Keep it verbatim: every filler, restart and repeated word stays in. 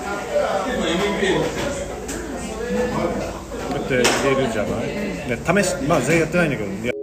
やって入れるじゃない、ね、試し、まあ全員やってないんだけど、いや